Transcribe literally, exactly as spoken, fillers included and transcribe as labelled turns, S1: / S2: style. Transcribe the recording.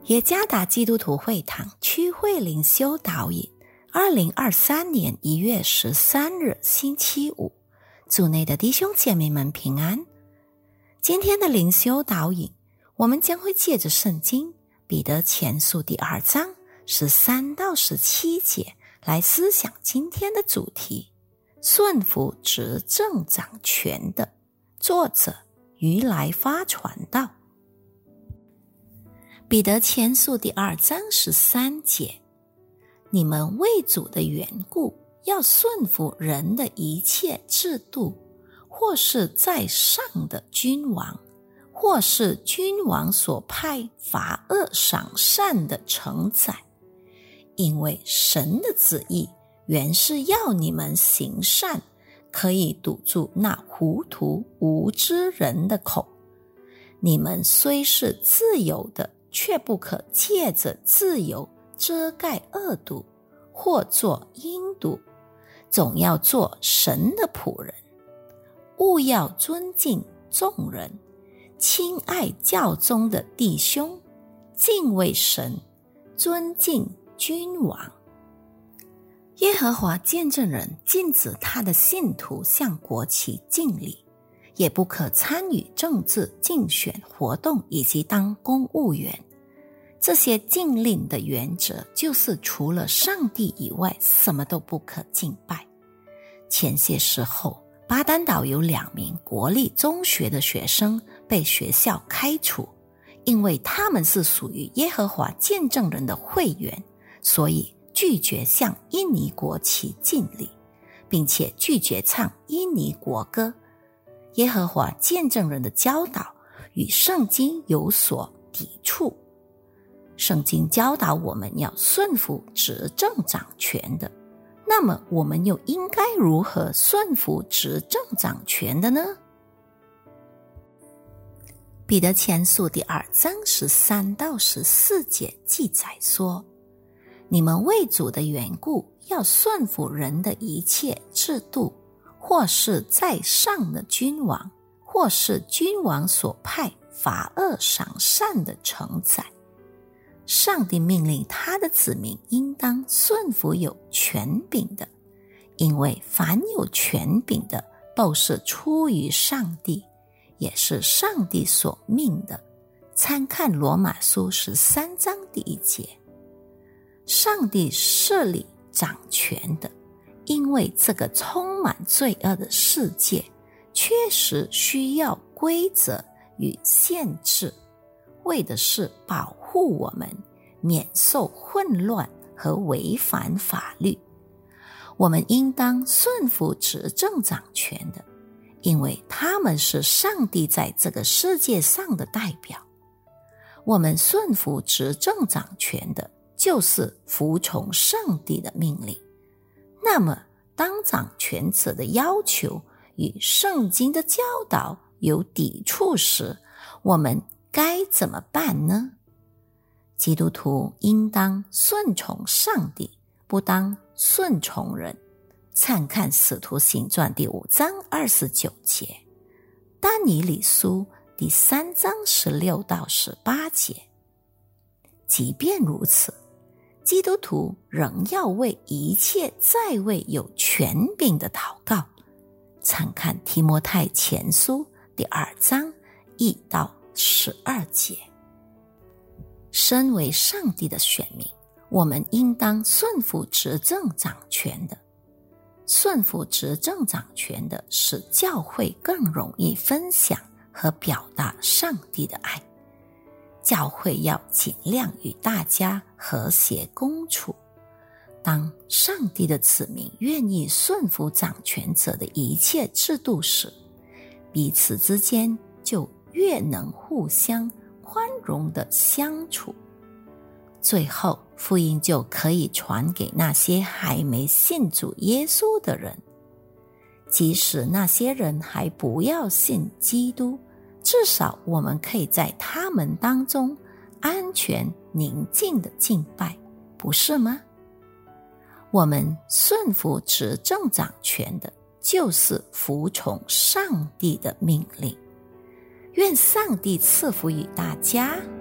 S1: 耶加达基督徒会堂区会灵修导引，二零二三年一月十三日星期五，主内的弟兄姐妹们平安。今天的灵修导引，我们将会借着圣经彼得前书第二章十三到十七节来思想今天的主题：顺服执政掌权的。作者于来发传道。彼得前书第二章十三节，你们为主的缘故，要顺服人的一切制度，或是在上的君王，或是君王所派罚恶赏善的承载，因为神的旨意原是要你们行善，可以堵住那糊涂无知人的口。你们虽是自由的，却不可借着自由遮盖恶毒，或做阴毒，总要做神的仆人。务要尊敬众人，亲爱教中的弟兄，敬畏神，尊敬君王。耶和华见证人禁止他的信徒向国旗敬礼，也不可参与政治竞选活动以及当公务员。这些禁令的原则就是除了上帝以外什么都不可敬拜。前些时候，巴丹岛有两名国立中学的学生被学校开除，因为他们是属于耶和华见证人的会员，所以拒绝向印尼国旗敬礼，并且拒绝唱印尼国歌。耶和华见证人的教导与圣经有所抵触。圣经教导我们要顺服执政掌权的，那么我们又应该如何顺服执政掌权的呢？彼得前书第二章十三到十四节记载说，你们为主的缘故，要顺服人的一切制度，或是在上的君王，或是君王所派罚恶赏善的承载。上帝命令他的子民应当顺服有权柄的，因为凡有权柄的都是出于上帝，也是上帝所命的。参看罗马书十三章第一节。上帝设立掌权的，因为这个充满罪恶的世界确实需要规则与限制，为的是保护我们免受混乱和违反法律。我们应当顺服执政掌权的，因为他们是上帝在这个世界上的代表。我们顺服执政掌权的，就是服从上帝的命令。那么当掌权者的要求与圣经的教导有抵触时，我们该怎么办呢？基督徒应当顺从上帝，不当顺从人。参看使徒行传第五章二十九节，但以理书第三章十六到十八节。即便如此，基督徒仍要为一切在位有权柄的祷告。参看提摩太前书第二章一到十二节。身为上帝的选民，我们应当顺服执政掌权的。顺服执政掌权的，使教会更容易分享和表达上帝的爱。教会要尽量与大家和谐共处。当上帝的子民愿意顺服掌权者的一切制度时，彼此之间就越能互相宽容地相处。最后，福音就可以传给那些还没信主耶稣的人。即使那些人还不要信基督，至少我们可以在他们当中安全宁静地敬拜，不是吗？我们顺服执政掌权的，就是服从上帝的命令。愿上帝赐福于大家。